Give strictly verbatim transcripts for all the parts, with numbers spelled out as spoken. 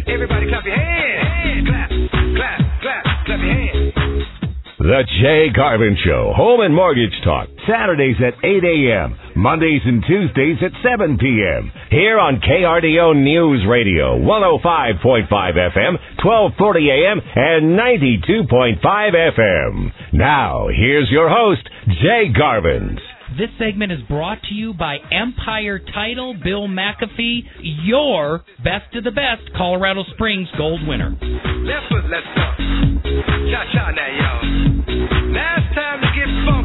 Everybody clap your hands. Clap, clap, clap, clap your hands. The Jay Garvin Show, Home and Mortgage Talk, Saturdays at eight a.m., Mondays and Tuesdays at seven p.m. Here on K R D O News Radio, one oh five point five F M, twelve forty a.m., and ninety-two point five F M. Now, here's your host, Jay Garvin. This segment is brought to you by Empire Title, Bill McAfee, your best of the best Colorado Springs gold winner. Left foot, let's go. Cha-cha now, y'all. Now it's time to get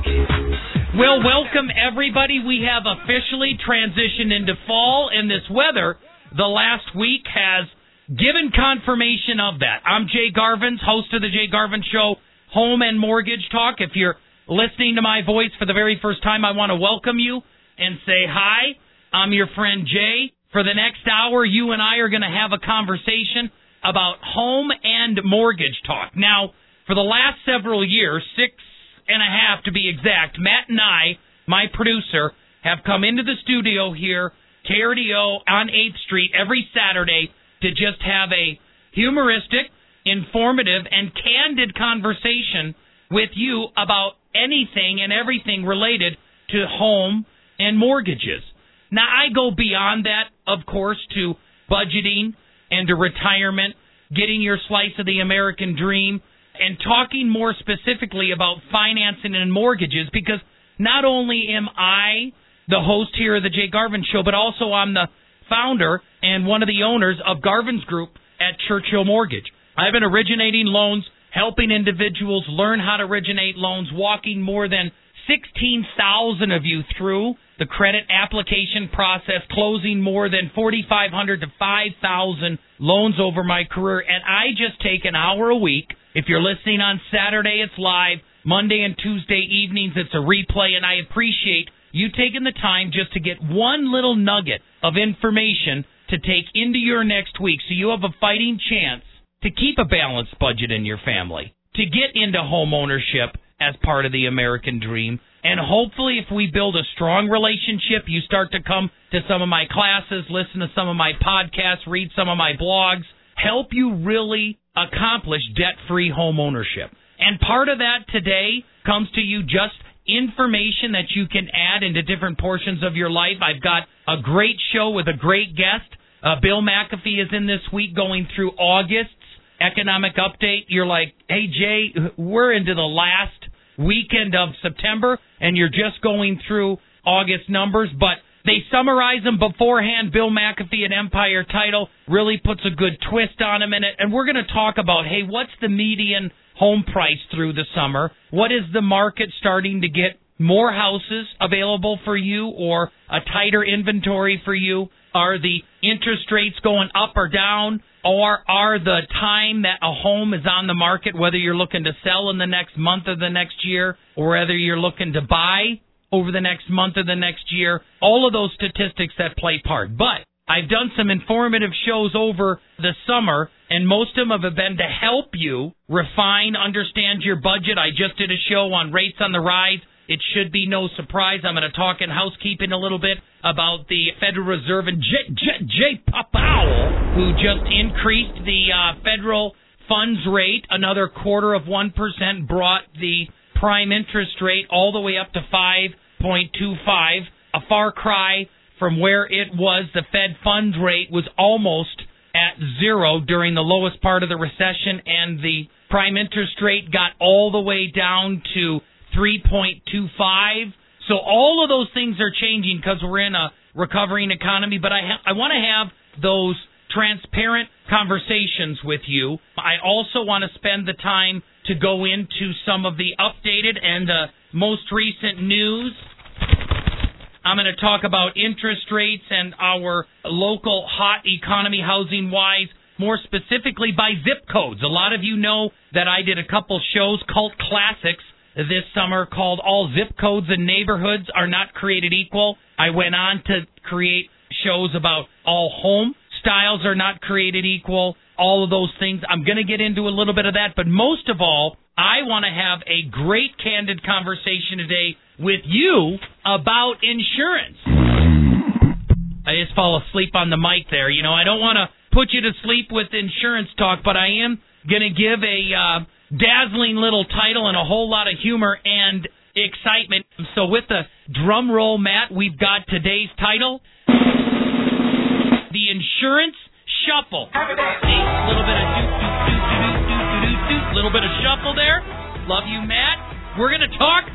funky. Well, welcome, everybody. We have officially transitioned into fall, and this weather the last week has given confirmation of that. I'm Jay Garvin, host of the Jay Garvin Show, Home and Mortgage Talk. If you're listening to my voice for the very first time, I want to welcome you and say hi. I'm your friend Jay. For the next hour, you and I are going to have a conversation about home and mortgage talk. Now, for the last several years, six and a half to be exact, Matt and I, my producer, have come into the studio here, K R D O on eighth Street, every Saturday to just have a humoristic, informative, and candid conversation with you about anything and everything related to home and mortgages. Now, I go beyond that, of course, to budgeting and to retirement, getting your slice of the American dream, and talking more specifically about financing and mortgages, because not only am I the host here of the Jay Garvin Show, but also I'm the founder and one of the owners of Garvin's Group at Churchill Mortgage. I've been originating loans, helping individuals learn how to originate loans, walking more than sixteen thousand of you through the credit application process, closing more than forty-five hundred to five thousand loans over my career. And I just take an hour a week. If you're listening on Saturday, it's live. Monday and Tuesday evenings, it's a replay. And I appreciate you taking the time just to get one little nugget of information to take into your next week so you have a fighting chance to keep a balanced budget in your family, to get into home ownership as part of the American dream. And hopefully if we build a strong relationship, you start to come to some of my classes, listen to some of my podcasts, read some of my blogs, help you really accomplish debt-free home ownership. And part of that today comes to you just information that you can add into different portions of your life. I've got a great show with a great guest. Uh, Bill McAfee is in this week going through August's economic update. You're like, hey, Jay, we're into the last weekend of September, and you're just going through August numbers, but they summarize them beforehand. Bill McAfee at Empire Title really puts a good twist on them in it, and we're going to talk about, hey, what's the median home price through the summer? What is the market starting to get more houses available for you or a tighter inventory for you? Are the interest rates going up or down? Or are the time that a home is on the market, whether you're looking to sell in the next month or the next year, or whether you're looking to buy over the next month or the next year, all of those statistics that play part. But I've done some informative shows over the summer, and most of them have been to help you refine, understand your budget. I just did a show on rates on the rise. It should be no surprise. I'm going to talk in housekeeping a little bit about the Federal Reserve and J. J. J. Powell, who just increased the uh, federal funds rate another quarter of one percent, brought the prime interest rate all the way up to five point two five, a far cry from where it was. The Fed funds rate was almost at zero during the lowest part of the recession, and the prime interest rate got all the way down to three point two five. So all of those things are changing because we're in a recovering economy, but I ha- I want to have those transparent conversations with you. I also want to spend the time to go into some of the updated and uh, most recent news. I'm going to talk about interest rates and our local hot economy housing-wise, more specifically by zip codes. A lot of you know that I did a couple shows, Cult Classics, this summer called All Zip Codes and Neighborhoods Are Not Created Equal. I went on to create shows about all home styles are not created equal, all of those things. I'm going to get into a little bit of that, but most of all, I want to have a great candid conversation today with you about insurance. I just fall asleep on the mic there. You know, I don't want to put you to sleep with insurance talk, but I am going to give a uh, dazzling little title and a whole lot of humor and excitement. So with the drum roll, Matt, we've got today's title, The Insurance Shuffle. See, a little bit of doot, doot, doot, doot, doot, doot, doot, little bit of shuffle there. Love you, Matt. We're going to talk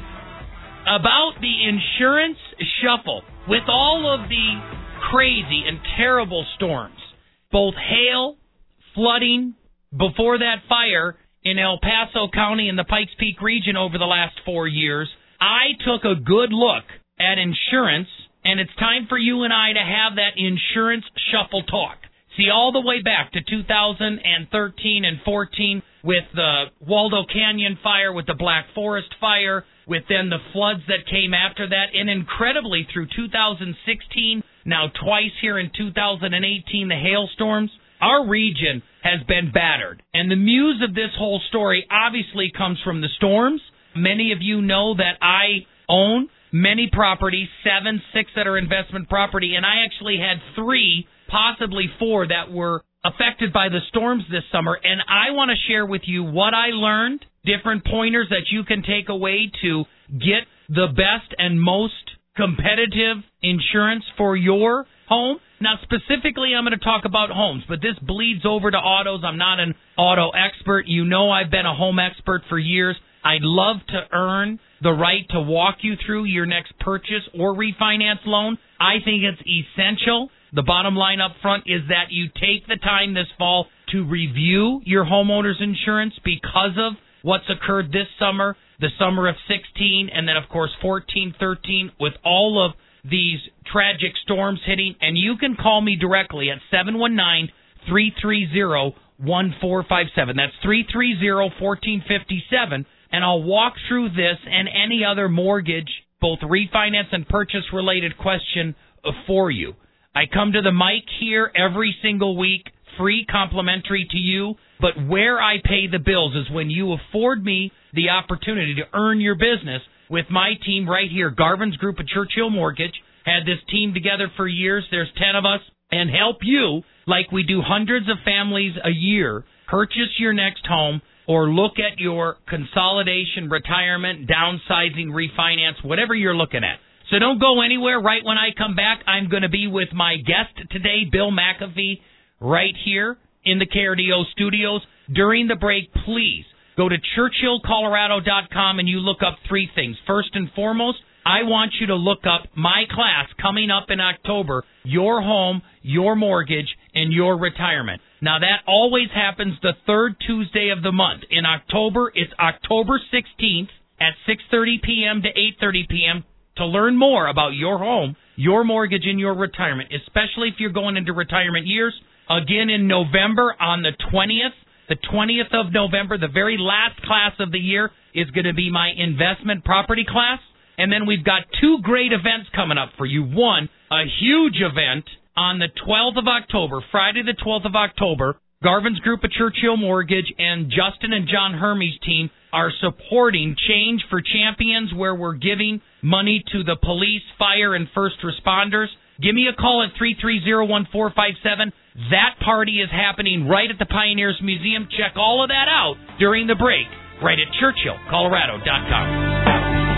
about the insurance shuffle. With all of the crazy and terrible storms, both hail, flooding, before that fire in El Paso County and the Pikes Peak region over the last four years, I took a good look at insurance, and it's time for you and I to have that insurance shuffle talk. See, all the way back to two thousand thirteen and fourteen with the Waldo Canyon fire, with the Black Forest fire, with then the floods that came after that, and incredibly through two thousand sixteen, now twice here in two thousand eighteen, the hailstorms, our region has been battered. And the muse of this whole story obviously comes from the storms. Many of you know that I own many properties, seven, six that are investment property, and I actually had three, possibly four, that were affected by the storms this summer. And I want to share with you what I learned, different pointers that you can take away to get the best and most competitive insurance for your home. Now, specifically, I'm going to talk about homes, but this bleeds over to autos. I'm not an auto expert. You know I've been a home expert for years. I'd love to earn the right to walk you through your next purchase or refinance loan. I think it's essential. The bottom line up front is that you take the time this fall to review your homeowner's insurance because of what's occurred this summer, the summer of sixteen, and then, of course, fourteen, thirteen, with all of these tragic storms hitting. And you can call me directly at seven one nine, three three zero, one four five seven. That's three three zero, one four five seven. And I'll walk through this and any other mortgage, both refinance and purchase-related question for you. I come to the mic here every single week, free, complimentary to you, but where I pay the bills is when you afford me the opportunity to earn your business with my team right here. Garvin's Group of Churchill Mortgage had this team together for years. There's ten of us, and help you like we do hundreds of families a year purchase your next home or look at your consolidation, retirement, downsizing, refinance, whatever you're looking at. So don't go anywhere. Right when I come back, I'm going to be with my guest today, Bill McAfee, right here in the K R D O studios. During the break, please go to Churchill Colorado dot com and you look up three things. First and foremost, I want you to look up my class coming up in October, Your Home, Your Mortgage, and Your Retirement. Now, that always happens the third Tuesday of the month. In October, it's October sixteenth at six thirty p.m. to eight thirty p.m. to learn more about your home, your mortgage, and your retirement, especially if you're going into retirement years. Again, in November on the twentieth, the twentieth of November, the very last class of the year, is going to be my investment property class. And then we've got two great events coming up for you. One, a huge event on the twelfth of October, Friday the twelfth of October. Garvin's Group of Churchill Mortgage and Justin and John Hermes' team are supporting Change for Champions, where we're giving money to the police, fire, and first responders. Give me a call at three three zero, one four five seven. That party is happening right at the Pioneers Museum. Check all of that out during the break, right at Churchill Colorado dot com.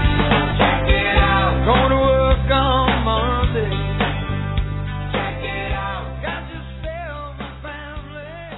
Check it out. Going to work on Monday. Check it out. Got yourself a family.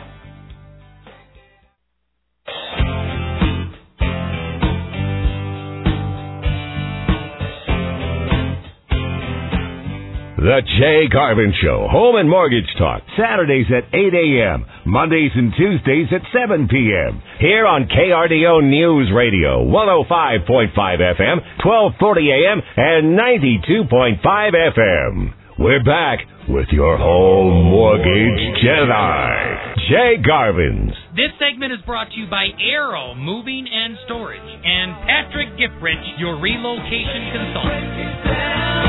The Jay Garvin Show, Home and Mortgage Talk, Saturdays at eight a.m., Mondays and Tuesdays at seven p.m. Here on K R D O News Radio, one oh five point five F M, twelve forty a.m., and ninety-two point five F M. We're back with your home mortgage Jedi, Jay Garvin's. This segment is brought to you by Arrow Moving and Storage and Patrick Gifrich, your relocation consultant.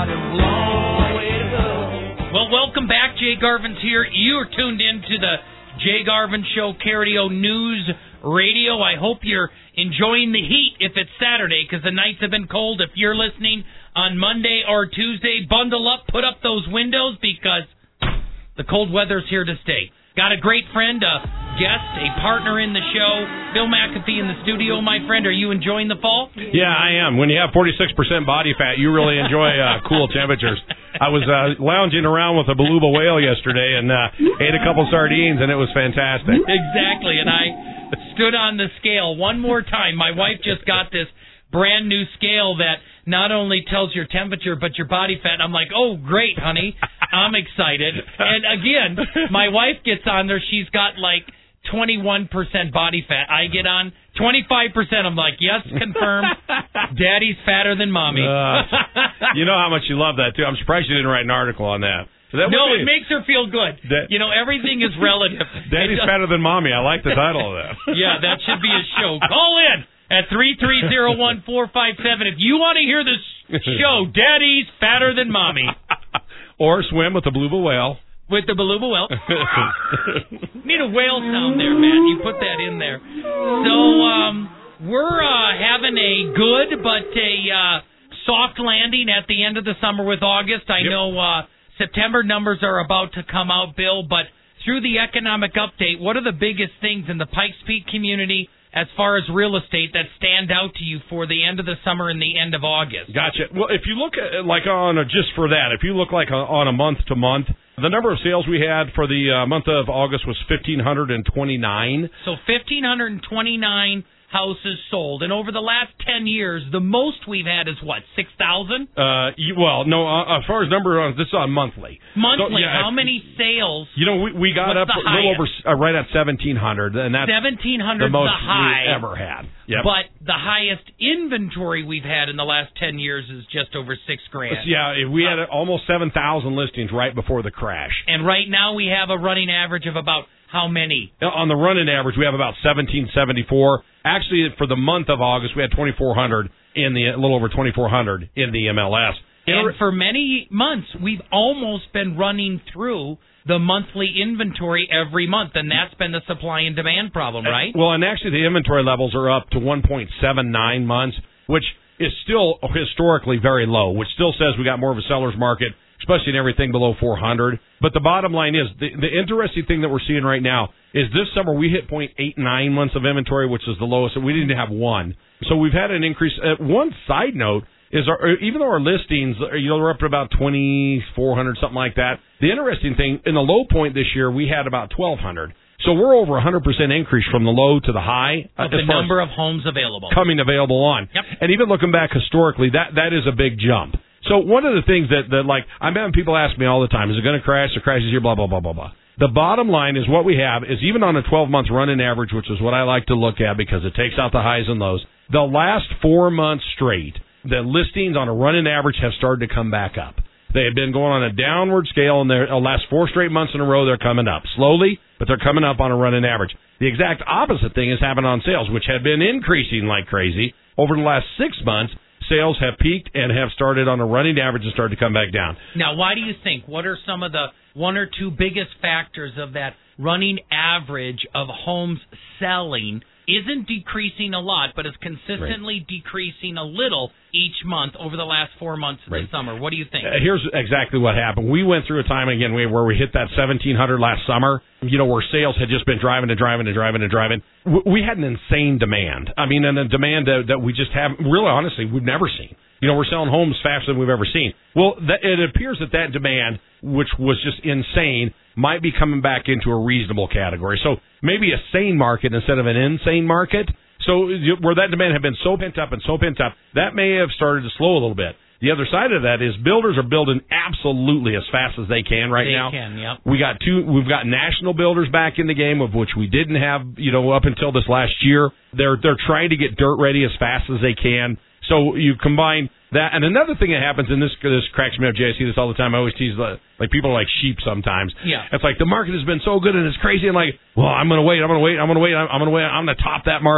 Well, welcome back. Jay Garvin's here. You are tuned in to the Jay Garvin Show, K R D O News Radio. I hope you're enjoying the heat if it's Saturday, because the nights have been cold. If you're listening on Monday or Tuesday, bundle up, put up those windows, because the cold weather's here to stay. Got a great friend, a guest, a partner in the show, Bill McAfee in the studio, my friend. Are you enjoying the fall? Yeah, I am. When you have forty-six percent body fat, you really enjoy uh, cool temperatures. I was uh, lounging around with a beluga whale yesterday and uh, ate a couple sardines, and it was fantastic. Exactly, and I stood on the scale one more time. My wife just got this brand new scale that not only tells your temperature but your body fat. I'm like, oh, great, honey. I'm excited. And again, my wife gets on there. She's got like twenty-one percent body fat. I get on twenty-five percent. I'm like, yes, confirmed. Daddy's fatter than mommy. Uh, you know how much you love that, too. I'm surprised you didn't write an article on that. that no, be, it makes her feel good. That, you know, everything is relative. Daddy's fatter than mommy. I like the title of that. Yeah, that should be a show. Call in at three three zero, one four five seven if you want to hear this show, Daddy's Fatter Than Mommy. Or swim with the beluga whale. With the beluga whale. Need a whale sound there, man. You put that in there. So, um, we're uh, having a good but a uh, soft landing at the end of the summer with August. I yep. know uh, September numbers are about to come out, Bill, but through the economic update, what are the biggest things in the Pikes Peak community as far as real estate that stand out to you for the end of the summer and the end of August? Gotcha. Well, if you look at, like on a, just for that, if you look like a, on a month to month, the number of sales we had for the uh, month of August was one thousand five hundred twenty-nine. So one thousand five hundred twenty-nine houses sold. And over the last ten years, the most we've had is what, six thousand? Uh, well, no, uh, as far as number, uh, this is on monthly. Monthly, so, yeah, how many sales? You know, we, we got up a little over, uh, right at seventeen hundred, and that's seventeen hundred the most the high, we've ever had. Yep. But the highest inventory we've had in the last ten years is just over six grand. Yeah, we had almost seven thousand listings right before the crash. And right now we have a running average of about how many? On the running average, we have about seventeen seventy-four. Actually, for the month of August, we had twenty-four hundred in the, a little over twenty-four hundred in the M L S. And for many months, we've almost been running through the monthly inventory every month, and that's been the supply and demand problem, right? Well, and actually the inventory levels are up to one point seven nine months, which is still historically very low, which still says we got more of a seller's market, especially in everything below four hundred. But the bottom line is, the, the interesting thing that we're seeing right now is this summer we hit point eight nine months of inventory, which is the lowest, and we didn't have one. So we've had an increase. Uh, one side note is, our, even though our listings, you know, we're up to about twenty-four hundred, something like that, the interesting thing, in the low point this year, we had about twelve hundred. So we're over one hundred percent increase from the low to the high. Of the number of homes available. Coming available on. Yep. And even looking back historically, that that is a big jump. So one of the things that, that like, I'm having people ask me all the time, is it going to crash? The crash is here, blah, blah, blah, blah, blah. The bottom line is what we have is, even on a twelve-month running average, which is what I like to look at because it takes out the highs and lows, the last four months straight, the listings on a running average have started to come back up. They have been going on a downward scale, and the last four straight months in a row, they're coming up. Slowly, but they're coming up on a running average. The exact opposite thing is happening on sales, which had been increasing like crazy. Over the last six months, sales have peaked and have started on a running average and started to come back down. Now, why do you think? What are some of the one or two biggest factors of that running average of homes selling isn't decreasing a lot, but is consistently right. decreasing a little each month over the last four months of right. the summer? What do you think? Uh, here's exactly what happened. We went through a time, again, where we hit that seventeen hundred last summer, you know, where sales had just been driving and driving and driving and driving. We had an insane demand. I mean, and a demand that, that we just haven't, really, honestly, we've never seen. You know, we're selling homes faster than we've ever seen. Well, that, it appears that that demand, which was just insane, might be coming back into a reasonable category. So maybe a sane market instead of an insane market. So where that demand had been so pent up and so pent up, that may have started to slow a little bit. The other side of that is builders are building absolutely as fast as they can right they now. They can, yep. We got two. We've got national builders back in the game, of which we didn't have, you know, up until this last year. They're they're trying to get dirt ready as fast as they can. So you combine that, and another thing that happens, and this this cracks me up, Jay, I see this all the time. I always tease, the, like, people are like sheep sometimes. Yeah. It's like the market has been so good and it's crazy, and like, well, I'm going to wait, I'm going to wait, I'm going to wait, I'm going to wait, I'm going to top that market.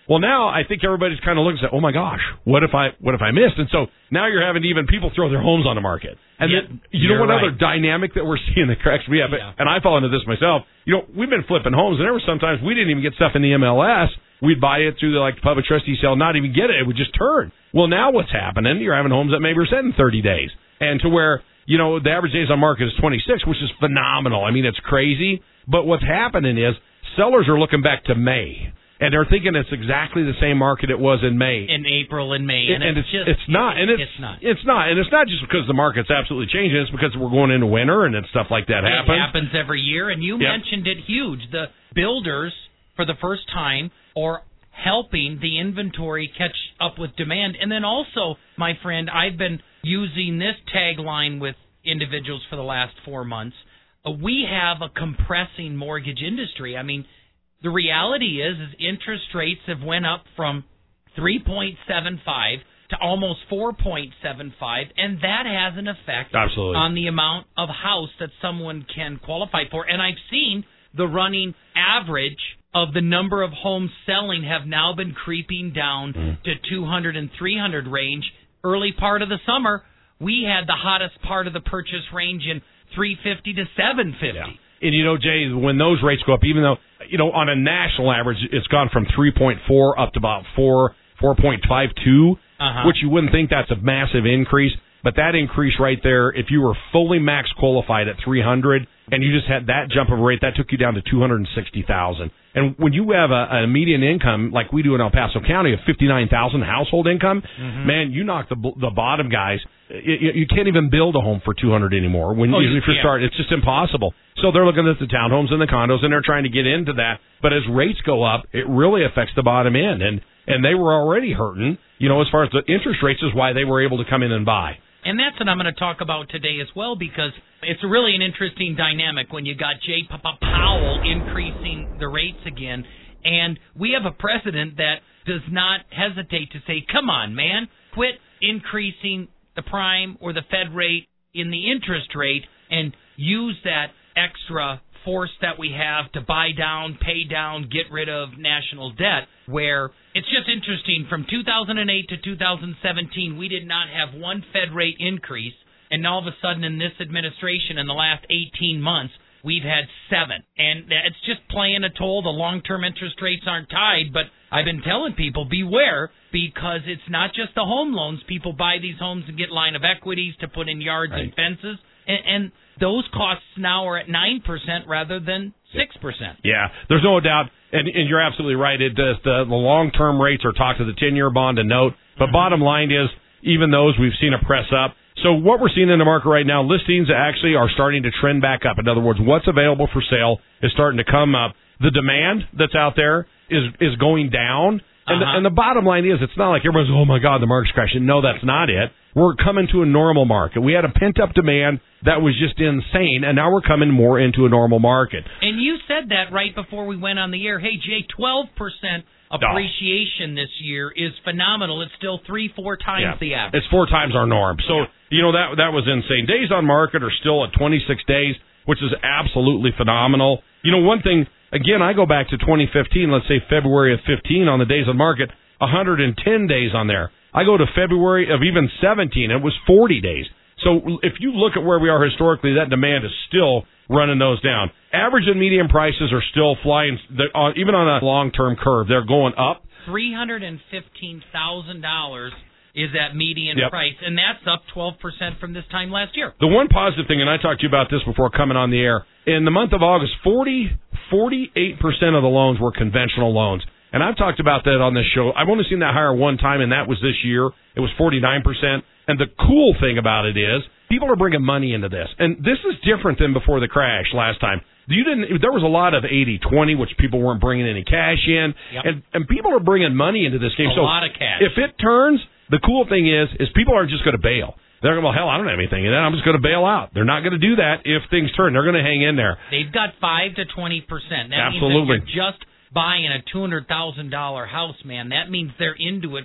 Well, now I think everybody's kind of looking at, oh my gosh, what if I what if I missed? And so now you're having even people throw their homes on the market. And yeah, then, you know what right. other dynamic that we're seeing that cracks me up, Yeah. and I fall into this myself. You know, we've been flipping homes, and there were sometimes we didn't even get stuff in the M L S. We'd buy it through the like public trustee sale, not even get it. It would just turn. Well, now what's happening? You're having homes that maybe are set in thirty days, and to where, you know, the average days on market is twenty-six, which is phenomenal. I mean, it's crazy. But what's happening is sellers are looking back to May. And they're thinking it's exactly the same market it was in May. In April and May. And, and it's, it's, just, it's not. And it's, it's not. It's not. And it's not just because the market's absolutely changing. It's because we're going into winter and then stuff like that happens. It happens every year. And you yep. mentioned it huge. The builders, for the first time, are helping the inventory catch up with demand. And then also, my friend, I've been using this tagline with individuals for the last four months. Uh, we have a compressing mortgage industry. I mean, the reality is, is interest rates have went up from three point seven five to almost four point seven five, and that has an effect Absolutely. on the amount of house that someone can qualify for. And I've seen the running average of the number of homes selling have now been creeping down mm. to two hundred and three hundred range. Early part of the summer, we had the hottest part of the purchase range in three fifty to seven fifty. Yeah. And, you know, Jay, when those rates go up, even though, you know, on a national average, it's gone from three point four up to about four, four point five two, uh-huh. which you wouldn't think that's a massive increase. But that increase right there, if you were fully max qualified at three hundred and you just had that jump of rate, that took you down to two hundred sixty thousand. And when you have a, a median income like we do in El Paso County of fifty-nine thousand household income, mm-hmm. man, you knock the the bottom guys. You, you can't even build a home for two hundred anymore. When oh, you, you if you start, it's just impossible. So they're looking at the townhomes and the condos, and they're trying to get into that. But as rates go up, it really affects the bottom end, and and they were already hurting. You know, as far as the interest rates is why they were able to come in and buy. And that's what I'm going to talk about today as well, because it's really an interesting dynamic when you got Jay Powell increasing the rates again. And we have a president that does not hesitate to say, come on, man, quit increasing the prime or the Fed rate in the interest rate and use that extra force that we have to buy down, pay down, get rid of national debt, where it's just interesting. From two thousand eight to two thousand seventeen, we did not have one Fed rate increase, and all of a sudden in this administration, in the last eighteen months, we've had seven. And it's just playing a toll. The long-term interest rates aren't tied, but I've been telling people, beware, because it's not just the home loans. People buy these homes and get line of equities to put in yards right. and fences, and, and those costs now are at nine percent rather than six percent. Yeah, there's no doubt, and, and you're absolutely right. It does, the, the long-term rates are talked to the ten-year bond and note, but mm-hmm. bottom line is, even those we've seen a press up. So what we're seeing in the market right now, listings actually are starting to trend back up. In other words, what's available for sale is starting to come up. The demand that's out there is is going down. And, uh-huh. the, and the bottom line is, it's not like everyone's, oh, my God, the market's crashing. No, that's not it. We're coming to a normal market. We had a pent-up demand that was just insane, and now we're coming more into a normal market. And you said that right before we went on the air. Hey, Jay, twelve percent appreciation this year is phenomenal. It's still three, four times yeah. the average. It's four times our norm. So, yeah. you know, that that was insane. Days on market are still at twenty-six days, which is absolutely phenomenal. You know, one thing, again, I go back to twenty fifteen, let's say February of fifteen on the days on market, one hundred ten days on there. I go to February of even seventeen, it was forty days. So if you look at where we are historically, that demand is still running those down. Average and median prices are still flying, even on a long-term curve. They're going up. three hundred fifteen thousand dollars is that median yep. price, and that's up twelve percent from this time last year. The one positive thing, and I talked to you about this before coming on the air, in the month of August, forty, forty-eight percent of the loans were conventional loans. And I've talked about that on this show. I've only seen that higher one time, and that was this year. It was forty-nine percent. And the cool thing about it is people are bringing money into this. And this is different than before the crash last time. You didn't. There was a lot of eighty twenty, which people weren't bringing any cash in. Yep. And, and people are bringing money into this game. A so lot of cash. If it turns, the cool thing is, is people aren't just going to bail. They're going, well, hell, I don't have anything in that. I'm just going to bail out. They're not going to do that if things turn. They're going to hang in there. They've got five to twenty percent. That Absolutely. means that you're just buying a two hundred thousand dollars house, man. That means they're into it for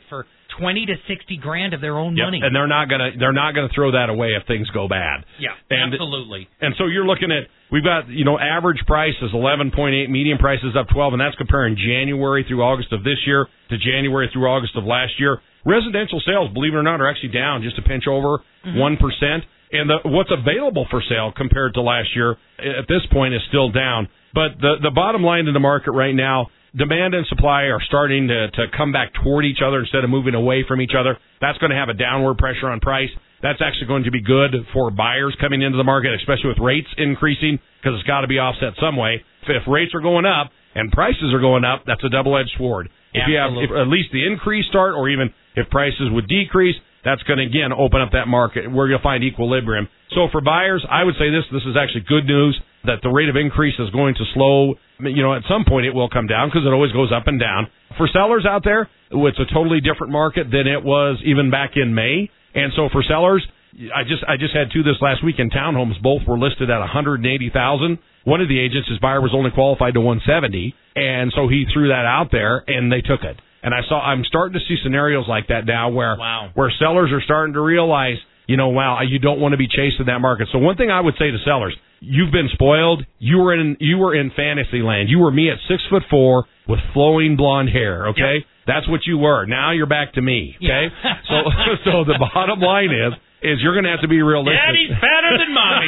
twenty to sixty grand of their own Yep. money. And they're not gonna they're not gonna throw that away if things go bad. Yeah, and, absolutely. And so you're looking at we've got you know average price is eleven point eight, median price is up twelve, and that's comparing January through August of this year to January through August of last year. Residential sales, believe it or not, are actually down just a pinch over one mm-hmm. percent. And the, what's available for sale compared to last year at this point is still down. But the the bottom line in the market right now, demand and supply are starting to, to come back toward each other instead of moving away from each other. That's going to have a downward pressure on price. That's actually going to be good for buyers coming into the market, especially with rates increasing, because it's got to be offset some way. If, if rates are going up and prices are going up, that's a double-edged sword. If Absolutely. you have if at least the increase start, or even if prices would decrease, that's going to, again, open up that market where you'll find equilibrium. So for buyers, I would say this, this is actually good news, that the rate of increase is going to slow. You know, at some point it will come down because it always goes up and down. For sellers out there, it's a totally different market than it was even back in May. And so for sellers, I just I just had two this last week in townhomes. Both were listed at one hundred eighty thousand dollars. One of the agents, his buyer was only qualified to one hundred seventy thousand dollars, and so he threw that out there, and they took it. And I saw I'm starting to see scenarios like that now where wow. where sellers are starting to realize, you know, wow, you don't want to be chasing that market. So one thing I would say to sellers, you've been spoiled. You were in you were in fantasy land. You were me at six foot four with flowing blonde hair, okay? Yep. That's what you were. Now you're back to me, okay? Yeah. so so the bottom line is is you're going to have to be realistic. Daddy's fatter than mommy.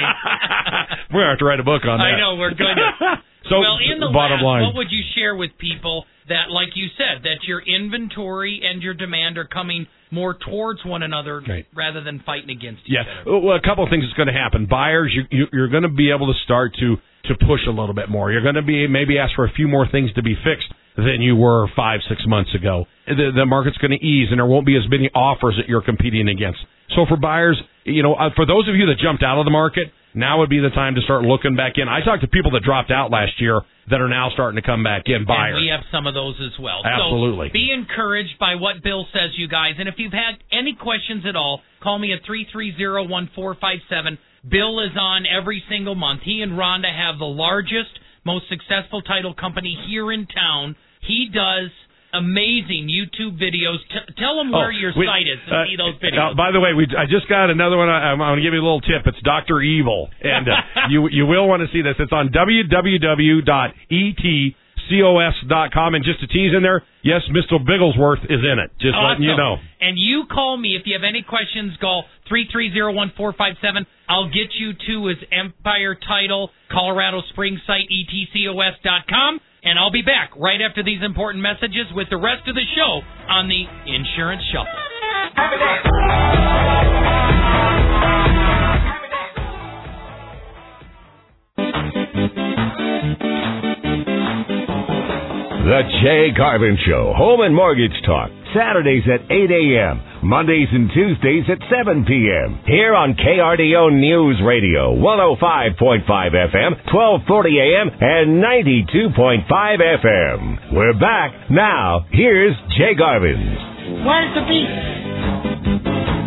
We're going to have to write a book on that. I know, we're going to. So, well, in the bottom last, line, what would you share with people that, like you said, that your inventory and your demand are coming more towards one another right. rather than fighting against each yeah. other? Well, a couple of things is going to happen. Buyers, you, you, you're going to be able to start to, to push a little bit more. You're going to be maybe ask for a few more things to be fixed than you were five, six months ago. The, the market's going to ease, and there won't be as many offers that you're competing against. So for buyers, you know, uh, for those of you that jumped out of the market, now would be the time to start looking back in. I talked to people that dropped out last year that are now starting to come back in, buyers. And we have some of those as well. Absolutely. So be encouraged by what Bill says, you guys. And if you've had any questions at all, call me at three three zero, one four five seven. Bill is on every single month. He and Rhonda have the largest, most successful title company here in town. He does amazing YouTube videos. T- tell them where oh, your we, site is to uh, see those videos. Uh, by the way, we I just got another one. I, I'm going to give you a little tip. It's Doctor Evil, and uh, you you will want to see this. It's on w w w dot e t cos dot com, and just to tease in there, yes, Mister Bigglesworth is in it. Just awesome. letting you know. And you call me if you have any questions. Call three three zero, one four five seven. I'll get you to his Empire Title Colorado Springs site, e t cos dot com. And I'll be back right after these important messages with the rest of the show on the Insurance Shuffle. The Jay Garvin Show, Home and Mortgage Talk, Saturdays at eight a.m., Mondays and Tuesdays at seven p.m. Here on K R D O News Radio, one oh five point five F M, twelve forty a.m., and ninety-two point five F M. We're back. Now, here's Jay Garvin. Where's the beat?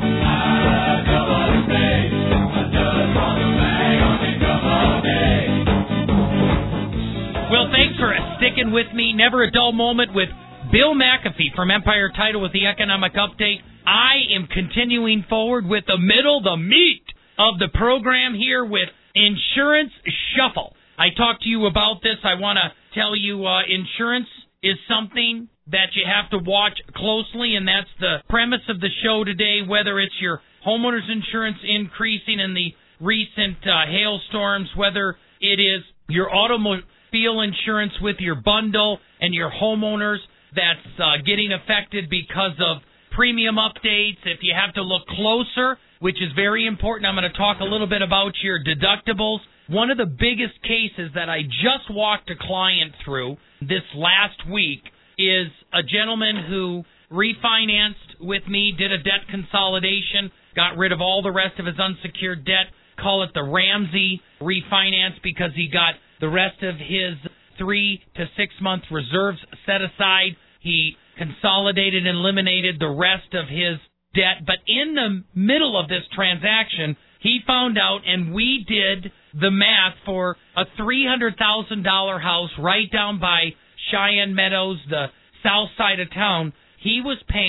Well, thanks for sticking with me. Never a dull moment with Bill McAfee from Empire Title with the Economic Update. I am continuing forward with the middle, the meat of the program here with Insurance Shuffle. I talked to you about this. I want to tell you uh, insurance is something that you have to watch closely, and that's the premise of the show today, whether it's your homeowner's insurance increasing in the recent uh, hailstorms, whether it is your automobile insurance with your bundle and your homeowners that's uh, getting affected because of premium updates. If you have to look closer, which is very important, I'm going to talk a little bit about your deductibles. One of the biggest cases that I just walked a client through this last week is a gentleman who refinanced with me, did a debt consolidation, got rid of all the rest of his unsecured debt, call it the Ramsey refinance, because he got the rest of his three to six month reserves set aside. He consolidated and eliminated the rest of his debt. But in the middle of this transaction, he found out, and we did the math for a three hundred thousand dollars house right down by Cheyenne Meadows, the south side of town. He was paying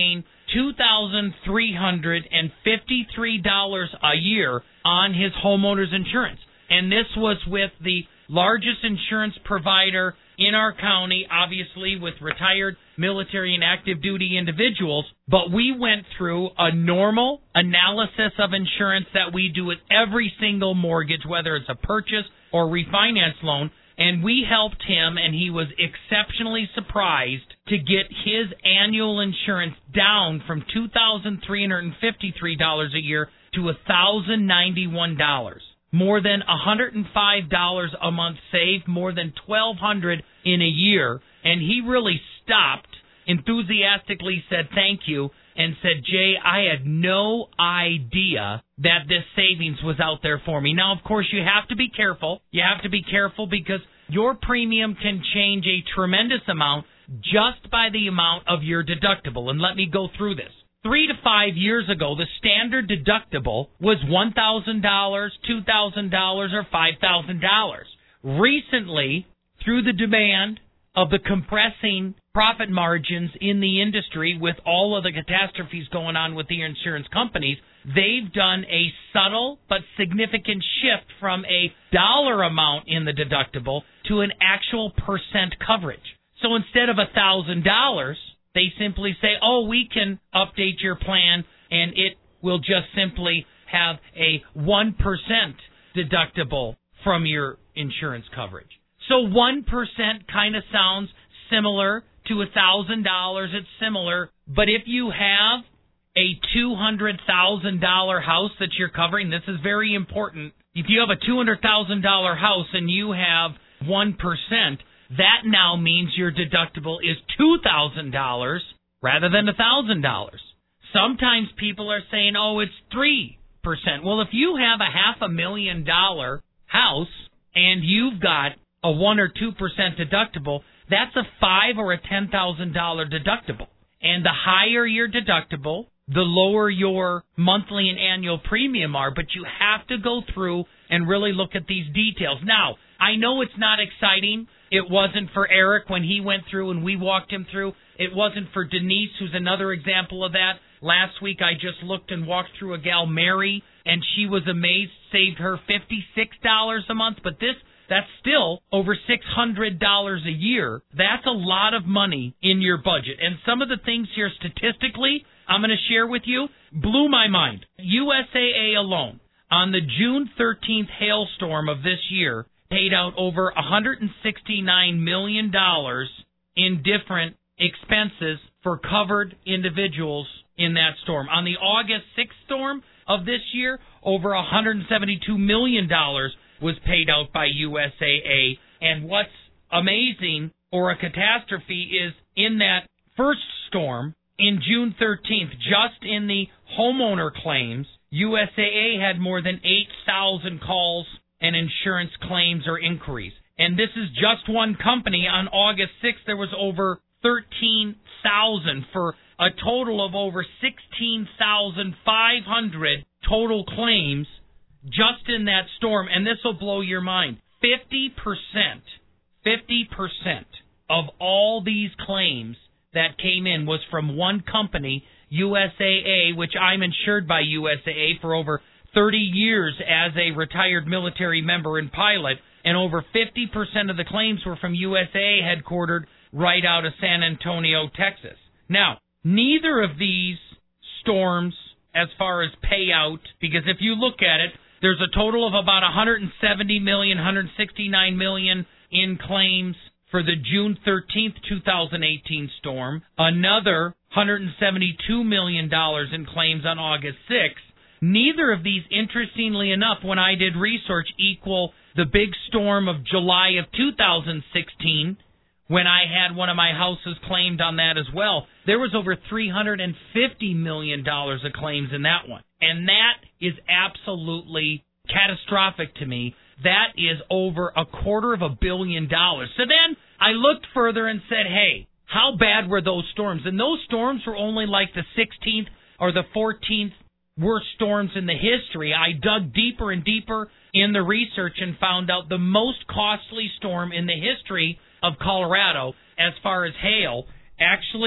two thousand three hundred fifty-three dollars a year on his homeowner's insurance. And this was with the largest insurance provider in our county, obviously with retired military and active duty individuals. But we went through a normal analysis of insurance that we do with every single mortgage, whether it's a purchase or refinance loan. And we helped him, and he was exceptionally surprised to get his annual insurance down from two thousand three hundred fifty-three dollars a year to one thousand ninety-one dollars. More than one hundred five dollars a month saved, more than twelve hundred dollars in a year. And he really stopped, enthusiastically said thank you, and said, Jay, I had no idea that this savings was out there for me. Now, of course, you have to be careful. You have to be careful because your premium can change a tremendous amount just by the amount of your deductible. And let me go through this. Three to five years ago, the standard deductible was one thousand dollars, two thousand dollars, or five thousand dollars. Recently, through the demand of the compressing profit margins in the industry with all of the catastrophes going on with the insurance companies, they've done a subtle but significant shift from a dollar amount in the deductible to an actual percent coverage. So instead of one thousand dollars, they simply say, oh, we can update your plan, and it will just simply have a one percent deductible from your insurance coverage. So one percent kind of sounds similar to one thousand dollars. It's similar. But if you have a two hundred thousand dollars house that you're covering, this is very important. If you have a two hundred thousand dollars house and you have one percent, that now means your deductible is two thousand dollars rather than one thousand dollars. Sometimes people are saying, oh, it's three percent. Well, if you have a half a million dollar house and you've got a one or two percent deductible, that's a five or a ten thousand dollars deductible. And the higher your deductible, the lower your monthly and annual premium are. But you have to go through and really look at these details. Now, I know it's not exciting. It wasn't for Eric when he went through and we walked him through. It wasn't for Denise, who's another example of that. Last week I just looked and walked through a gal, Mary, and she was amazed, saved her fifty-six dollars a month. But this, that's still over six hundred dollars a year. That's a lot of money in your budget. And some of the things here statistically I'm going to share with you blew my mind. U S A A alone, on the June thirteenth hailstorm of this year, paid out over one hundred sixty-nine million dollars in different expenses for covered individuals in that storm. On the August sixth storm of this year, over one hundred seventy-two million dollars was paid out by U S A A. And what's amazing, or a catastrophe, is in that first storm, in June thirteenth, just in the homeowner claims, U S A A had more than eight thousand calls and insurance claims or inquiries. And this is just one company. On August sixth, there was over thirteen thousand for a total of over sixteen thousand five hundred total claims just in that storm. And this will blow your mind. fifty percent, fifty percent of all these claims that came in was from one company, U S A A, which I'm insured by U S A A for over thirty years as a retired military member and pilot, and over fifty percent of the claims were from U S A A headquartered right out of San Antonio, Texas. Now, neither of these storms, as far as payout, because if you look at it, there's a total of about one hundred seventy million dollars, one hundred sixty-nine million dollars in claims for the June thirteenth, two thousand eighteen storm, another one hundred seventy-two million dollars in claims on August sixth. Neither of these, interestingly enough, when I did research, equal the big storm of July of two thousand sixteen, when I had one of my houses claimed on that as well. There was over three hundred fifty million dollars of claims in that one. And that is absolutely catastrophic to me. That is over a quarter of a billion dollars. So then I looked further and said, hey, how bad were those storms? And those storms were only like the sixteenth or the fourteenth worst storms in the history. I dug deeper and deeper in the research and found out the most costly storm in the history of Colorado, as far as hail, actually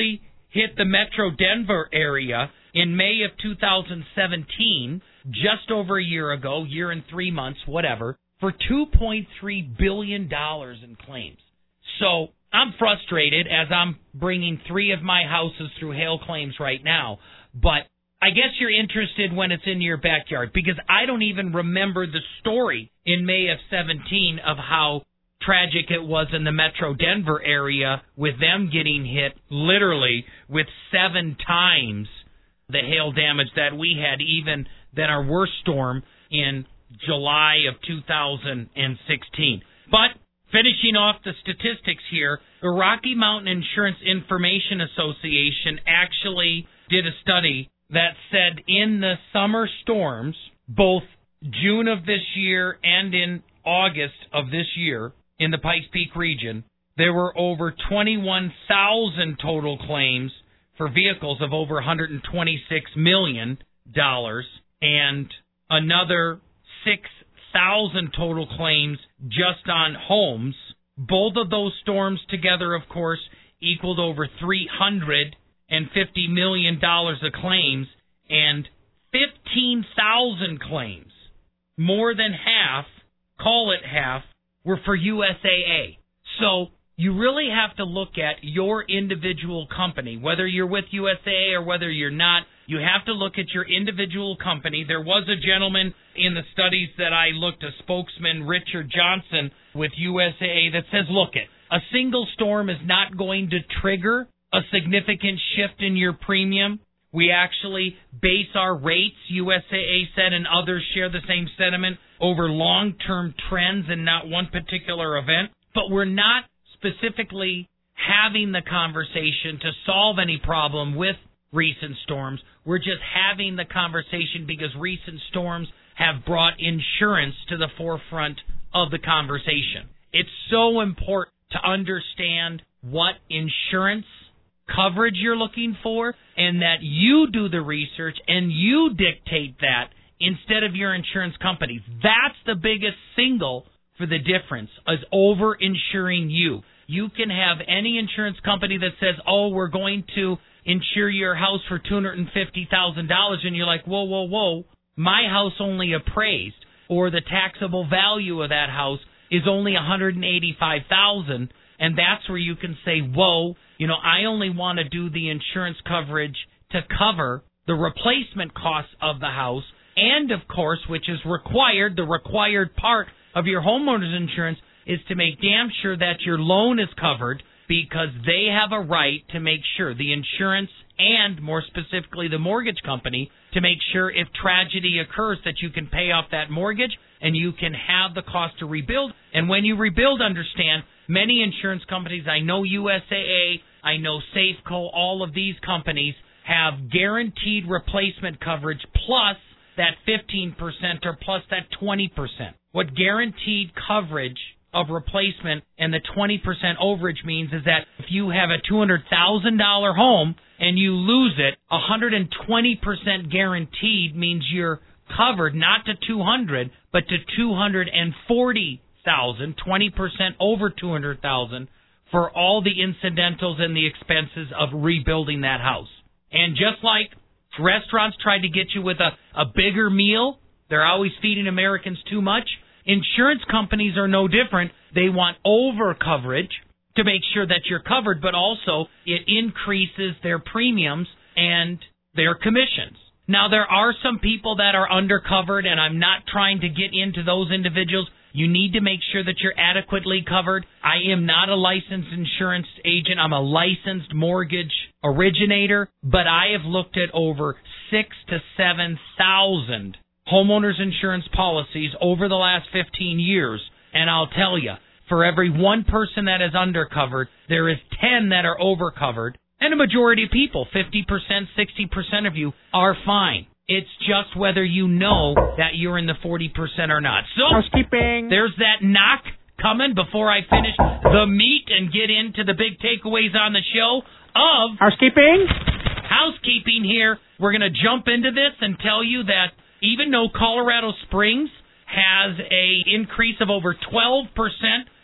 hit the Metro Denver area in May of two thousand seventeen, just over a year ago, year and three months, whatever, for two point three billion dollars in claims. So I'm frustrated as I'm bringing three of my houses through hail claims right now, but I guess you're interested when it's in your backyard, because I don't even remember the story in May of seventeen of how tragic it was in the Metro Denver area with them getting hit literally with seven times the hail damage that we had, even than our worst storm in July of two thousand sixteen. But finishing off the statistics here, the Rocky Mountain Insurance Information Association actually did a study that said in the summer storms, both June of this year and in August of this year in the Pikes Peak region, there were over twenty-one thousand total claims for vehicles of over one hundred twenty-six million dollars and another six thousand total claims just on homes. Both of those storms together, of course, equaled over three hundred fifty million dollars of claims, and fifteen thousand claims, more than half, call it half, were for U S A A. So you really have to look at your individual company, whether you're with U S A A or whether you're not. You have to look at your individual company. There was a gentleman in the studies that I looked, a spokesman, Richard Johnson, with U S A A, that says, look, it, a single storm is not going to trigger a significant shift in your premium. We actually base our rates, U S A A said, and others share the same sentiment, over long-term trends and not one particular event. But we're not specifically having the conversation to solve any problem with recent storms. We're just having the conversation because recent storms have brought insurance to the forefront of the conversation. It's so important to understand what insurance coverage you're looking for, and that you do the research and you dictate that instead of your insurance company. That's the biggest single for the difference, is over-insuring you. You can have any insurance company that says, oh, we're going to insure your house for two hundred fifty thousand dollars, and you're like, whoa, whoa, whoa, my house only appraised, or the taxable value of that house is only one hundred eighty-five thousand dollars, and that's where you can say, whoa, you know, I only want to do the insurance coverage to cover the replacement costs of the house, and, of course, which is required, the required part of your homeowner's insurance is to make damn sure that your loan is covered, because they have a right to make sure, the insurance and, more specifically, the mortgage company, to make sure if tragedy occurs that you can pay off that mortgage and you can have the cost to rebuild. And when you rebuild, understand, many insurance companies, I know U S A A, I know Safeco, all of these companies have guaranteed replacement coverage plus that fifteen percent or plus that twenty percent. What guaranteed coverage of replacement and the twenty percent overage means is that if you have a two hundred thousand dollars home and you lose it, one hundred twenty percent guaranteed means you're covered not to two hundred but to two hundred forty thousand, twenty percent over two hundred thousand for all the incidentals and the expenses of rebuilding that house. And just like restaurants try to get you with a, a bigger meal, they're always feeding Americans too much. Insurance companies are no different. They want over coverage to make sure that you're covered, but also it increases their premiums and their commissions. Now, there are some people that are undercovered, and I'm not trying to get into those individuals. You need to make sure that you're adequately covered. I am not a licensed insurance agent. I'm a licensed mortgage originator, but I have looked at over six to seven thousand homeowners insurance policies over the last fifteen years, and I'll tell you, for every one person that is undercovered, there is ten that are overcovered, and a majority of people, fifty percent, sixty percent of you, are fine. It's just whether you know that you're in the forty percent or not. So, housekeeping. There's that knock coming before I finish the meat and get into the big takeaways on the show of Housekeeping. Housekeeping here. We're going to jump into this and tell you that even though Colorado Springs has a increase of over twelve percent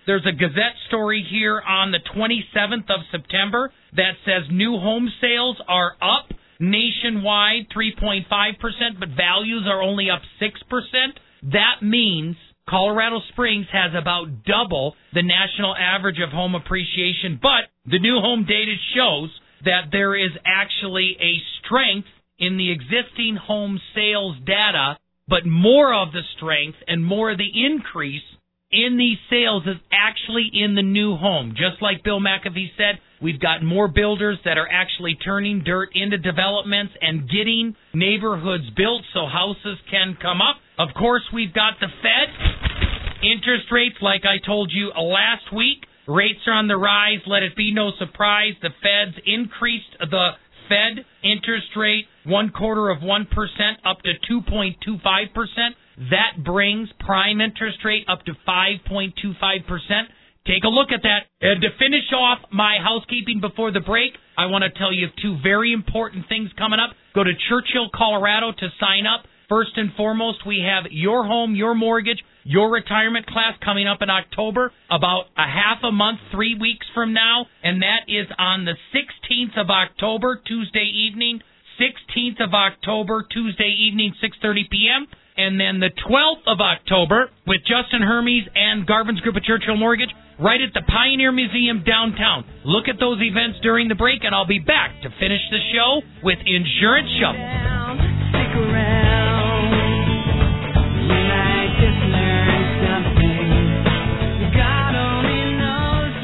There's a Gazette story here on the twenty-seventh of September that says new home sales are up nationwide three point five percent, but values are only up six percent. That means Colorado Springs has about double the national average of home appreciation, but the new home data shows that there is actually a strength in the existing home sales data, but more of the strength and more of the increase in these sales is actually in the new home. Just like Bill McAfee said, we've got more builders that are actually turning dirt into developments and getting neighborhoods built so houses can come up. Of course, we've got the Fed. Interest rates, like I told you last week, rates are on the rise. Let it be no surprise. The Feds increased the Fed interest rate one quarter of one percent up to two point two five percent. That brings prime interest rate up to five point two five percent. Take a look at that. And to finish off my housekeeping before the break, I want to tell you of two very important things coming up. Go to Churchill, Colorado to sign up. First and foremost, we have Your Home, Your Mortgage, Your Retirement class coming up in October, about a half a month, three weeks from now, and that is on the sixteenth of October, Tuesday evening, sixteenth of October, Tuesday evening, six thirty p.m., and then the twelfth of October with Justin Hermes and Garvin's Group of Churchill Mortgage right at the Pioneer Museum downtown. Look at those events during the break, and I'll be back to finish the show with Insurance Shuffle. Stick around. You might just learn something. God only knows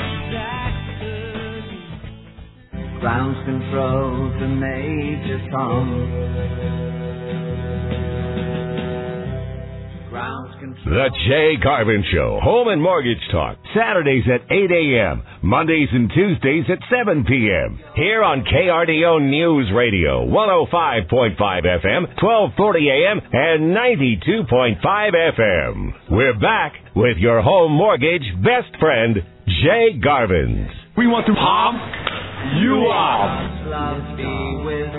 what that could be. Ground control the major song. The Jay Garvin Show, Home and Mortgage Talk, Saturdays at eight a.m., Mondays and Tuesdays at seven p.m. Here on K R D O News Radio, one oh five point five F M, twelve forty a.m., and ninety-two point five F M. We're back with your home mortgage best friend, Jay Garvin. We want to pump you up. Love be with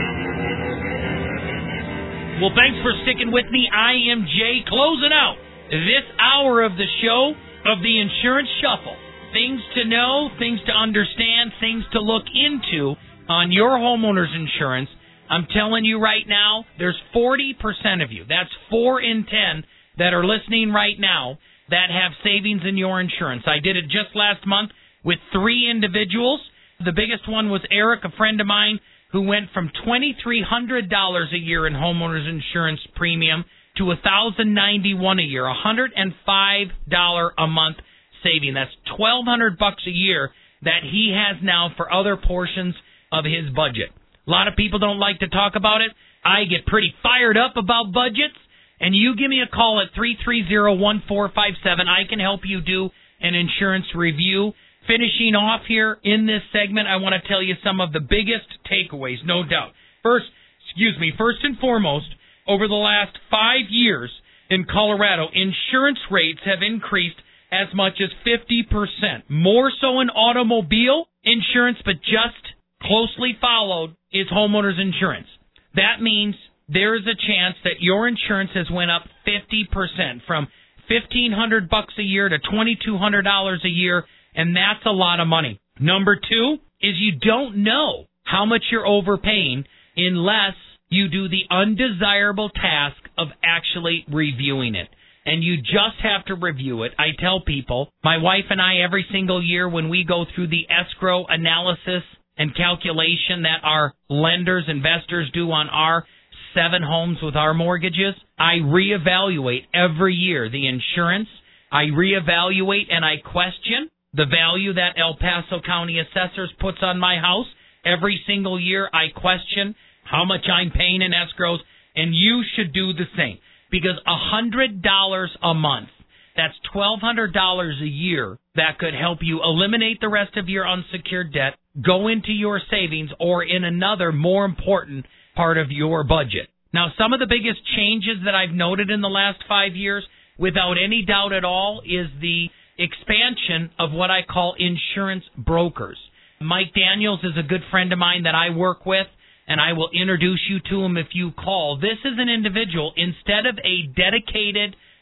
Well, thanks for sticking with me. I am Jay, closing out this hour of the show of the Insurance Shuffle. Things to know, things to understand, things to look into on your homeowner's insurance. I'm telling you right now, there's forty percent of you, that's four in ten, that are listening right now that have savings in your insurance. I did it just last month with three individuals. The biggest one was Eric, a friend of mine, who went from two thousand three hundred dollars a year in homeowners insurance premium to one thousand ninety-one dollars a year, one hundred five dollars a month saving. That's twelve hundred bucks a year that he has now for other portions of his budget. A lot of people don't like to talk about it. I get pretty fired up about budgets, and you give me a call at three three zero, one four five seven. I can help you do an insurance review. Finishing off here in this segment, I want to tell you some of the biggest takeaways, no doubt. First, excuse me, first and foremost, over the last five years in Colorado, insurance rates have increased as much as fifty percent. More so in automobile insurance, but just closely followed is homeowners insurance. That means there is a chance that your insurance has went up fifty percent, from fifteen hundred bucks a year to twenty-two hundred dollars a year. And that's a lot of money. Number two is you don't know how much you're overpaying unless you do the undesirable task of actually reviewing it. And you just have to review it. I tell people, my wife and I, every single year when we go through the escrow analysis and calculation that our lenders, investors do on our seven homes with our mortgages, I reevaluate every year the insurance. I reevaluate and I question the value that El Paso County Assessors puts on my house. Every single year I question how much I'm paying in escrows, and you should do the same. Because one hundred dollars a month, that's twelve hundred dollars a year, that could help you eliminate the rest of your unsecured debt, go into your savings, or in another more important part of your budget. Now, some of the biggest changes that I've noted in the last five years, without any doubt at all, is the expansion of what I call insurance brokers. Mike Daniels is a good friend of mine that I work with, and I will introduce you to him if you call. This is an individual, instead of a dedicated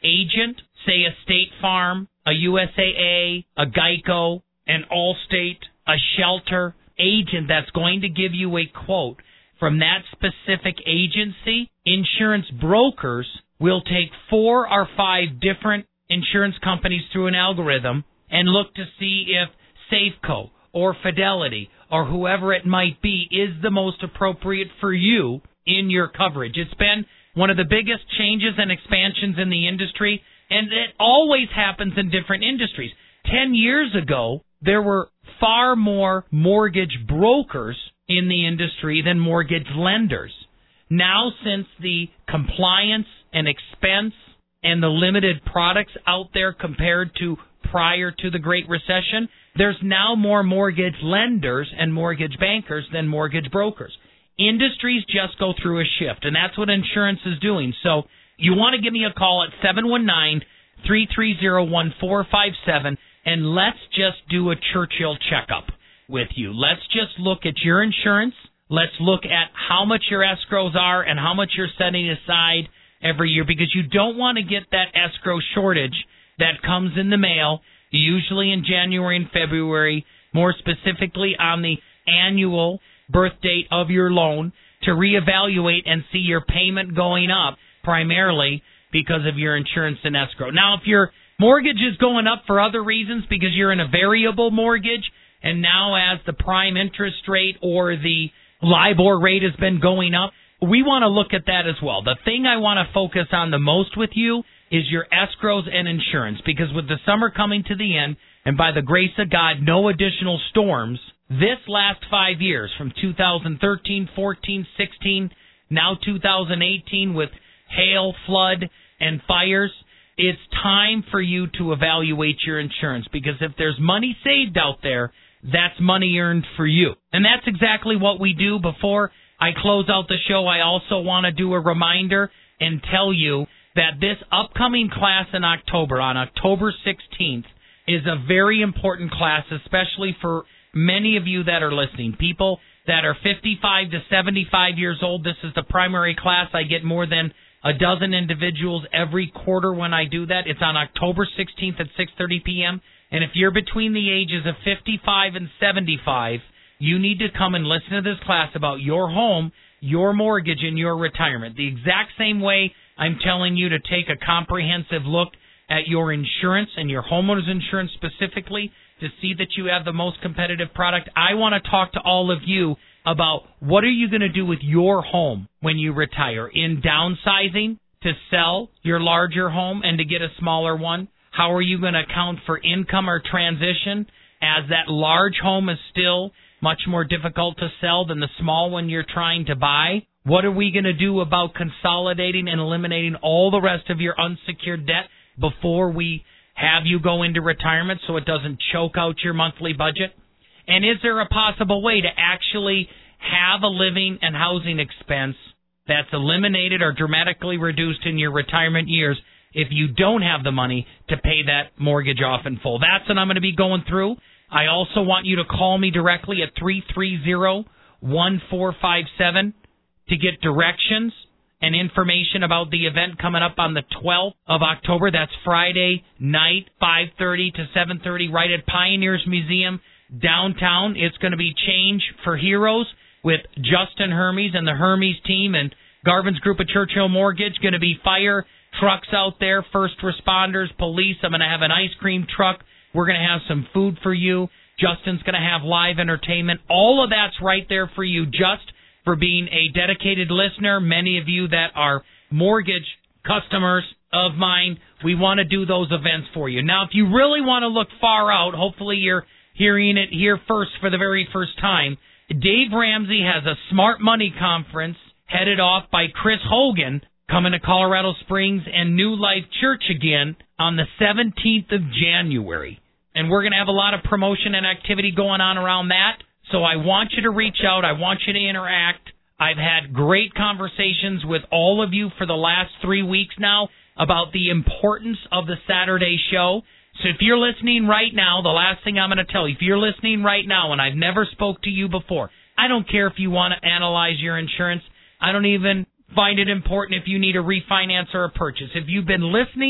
agent, say a State Farm, a U S A A, a Geico, an Allstate, a Shelter agent that's going to give you a quote from that specific agency, insurance brokers will take four or five different insurance companies through an algorithm and look to see if Safeco or Fidelity or whoever it might be is the most appropriate for you in your coverage. It's been one of the biggest changes and expansions in the industry, and it always happens in different industries. Ten years ago, there were far more mortgage brokers in the industry than mortgage lenders. Now, since the compliance and expense and the limited products out there compared to prior to the Great Recession, there's now more mortgage lenders and mortgage bankers than mortgage brokers. Industries just go through a shift, and that's what insurance is doing. So you want to give me a call at seven one nine, three three zero, one four five seven, and let's just do a Churchill checkup with you. Let's just look at your insurance. Let's look at how much your escrows are and how much you're setting aside every year, because you don't want to get that escrow shortage that comes in the mail, usually in January and February, more specifically on the annual birth date of your loan, to reevaluate and see your payment going up primarily because of your insurance and escrow. Now, if your mortgage is going up for other reasons because you're in a variable mortgage, and now as the prime interest rate or the LIBOR rate has been going up, we want to look at that as well. The thing I want to focus on the most with you is your escrows and insurance, because with the summer coming to the end, and by the grace of God, no additional storms, this last five years, from two thousand thirteen, fourteen, sixteen, now two thousand eighteen with hail, flood, and fires, it's time for you to evaluate your insurance, because if there's money saved out there, that's money earned for you. And that's exactly what we do. Before I close out the show, I also want to do a reminder and tell you that this upcoming class in October, on October sixteenth, is a very important class, especially for many of you that are listening. People that are fifty-five to seventy-five years old, this is the primary class. I get more than a dozen individuals every quarter when I do that. It's on October sixteenth at six thirty p.m. And if you're between the ages of fifty-five and seventy-five, you need to come and listen to this class about your home, your mortgage, and your retirement. The exact same way I'm telling you to take a comprehensive look at your insurance and your homeowner's insurance specifically to see that you have the most competitive product. I want to talk to all of you about what are you going to do with your home when you retire, in downsizing to sell your larger home and to get a smaller one. How are you going to account for income or transition, as that large home is still much more difficult to sell than the small one you're trying to buy? What are we going to do about consolidating and eliminating all the rest of your unsecured debt before we have you go into retirement so it doesn't choke out your monthly budget? And is there a possible way to actually have a living and housing expense that's eliminated or dramatically reduced in your retirement years if you don't have the money to pay that mortgage off in full? That's what I'm going to be going through. I also want you to call me directly at three three zero, one four five seven to get directions and information about the event coming up on the twelfth of October. That's Friday night, five thirty to seven thirty, right at Pioneers Museum downtown. It's going to be Change for Heroes with Justin Hermes and the Hermes team and Garvin's group of Churchill Mortgage. Going to be fire trucks out there, first responders, police. I'm going to have an ice cream truck. We're going to have some food for you. Justin's going to have live entertainment. All of that's right there for you, just for being a dedicated listener. Many of you that are mortgage customers of mine, we want to do those events for you. Now, if you really want to look far out, hopefully you're hearing it here first for the very first time, Dave Ramsey has a Smart Money Conference headed off by Chris Hogan coming to Colorado Springs and New Life Church again on the seventeenth of January. And we're going to have a lot of promotion and activity going on around that. So I want you to reach out. I want you to interact. I've had great conversations with all of you for the last three weeks now about the importance of the Saturday show. So if you're listening right now, the last thing I'm going to tell you, if you're listening right now and I've never spoke to you before, I don't care if you want to analyze your insurance. I don't even find it important if you need a refinance or a purchase. If you've been listening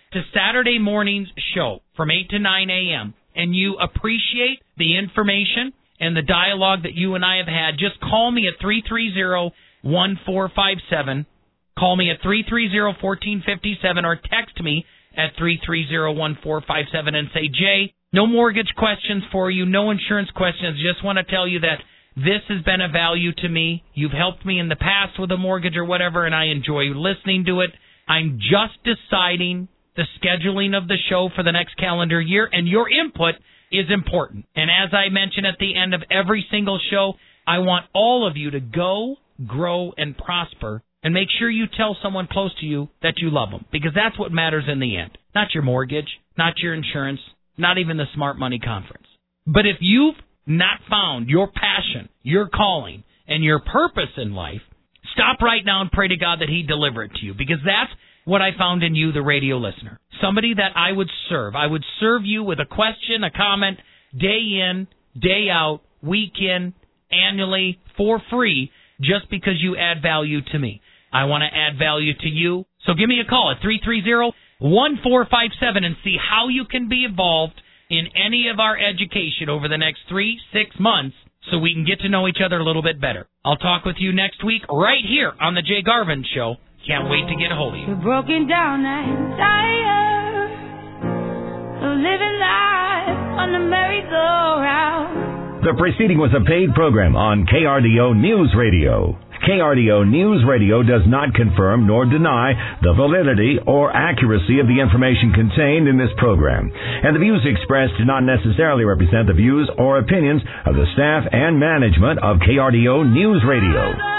to Saturday morning's show from eight to nine a.m. and you appreciate the information and the dialogue that you and I have had, just call me at three three zero, one four five seven. Call me at three three zero, one four five seven or text me at three three zero, one four five seven and say, Jay, no mortgage questions for you, no insurance questions. Just want to tell you that this has been a value to me. You've helped me in the past with a mortgage or whatever, and I enjoy listening to it. I'm just deciding the scheduling of the show for the next calendar year, and your input is important. And as I mention at the end of every single show, I want all of you to go, grow, and prosper, and make sure you tell someone close to you that you love them, because that's what matters in the end. Not your mortgage, not your insurance, not even the Smart Money Conference. But if you've not found your passion, your calling, and your purpose in life, stop right now and pray to God that He deliver it to you, because that's what I found in you, the radio listener. Somebody that I would serve. I would serve you with a question, a comment, day in, day out, week in, annually, for free, just because you add value to me. I want to add value to you. So give me a call at three three zero, one four five seven and see how you can be involved in any of our education over the next three, six months so we can get to know each other a little bit better. I'll talk with you next week right here on The Jay Garvin Show. Can't wait to get a hold of you. You're broken down and tired of living life on the merry-go-round. The preceding was a paid program on K R D O News Radio. K R D O News Radio does not confirm nor deny the validity or accuracy of the information contained in this program, and the views expressed do not necessarily represent the views or opinions of the staff and management of K R D O News Radio.